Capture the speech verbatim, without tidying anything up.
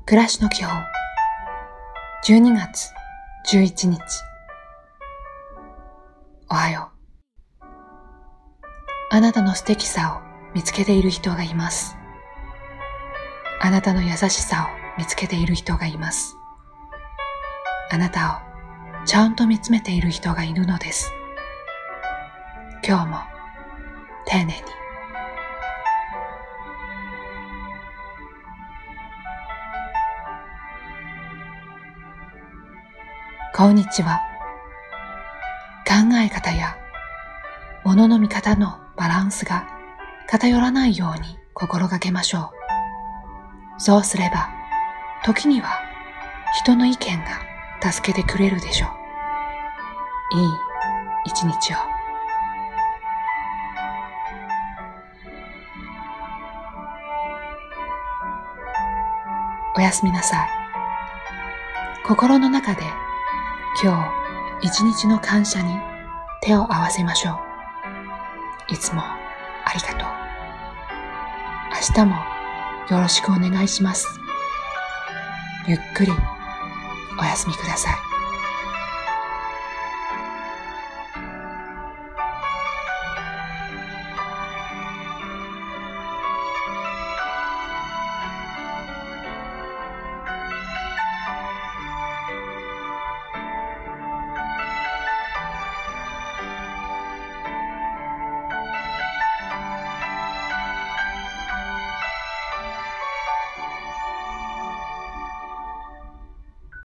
暮らしの基本じゅうにがつじゅういちにち。おはよう。あなたの素敵さを見つけている人がいます。あなたの優しさを見つけている人がいます。あなたをちゃんと見つめている人がいるのです。今日も丁寧に。こんにちは。考え方や物の見方のバランスが偏らないように心がけましょう。そうすれば、時には人の意見が助けてくれるでしょう。いい一日を。おやすみなさい。心の中で今日一日の感謝に手を合わせましょう。いつもありがとう。明日もよろしくお願いします。ゆっくりお休みください。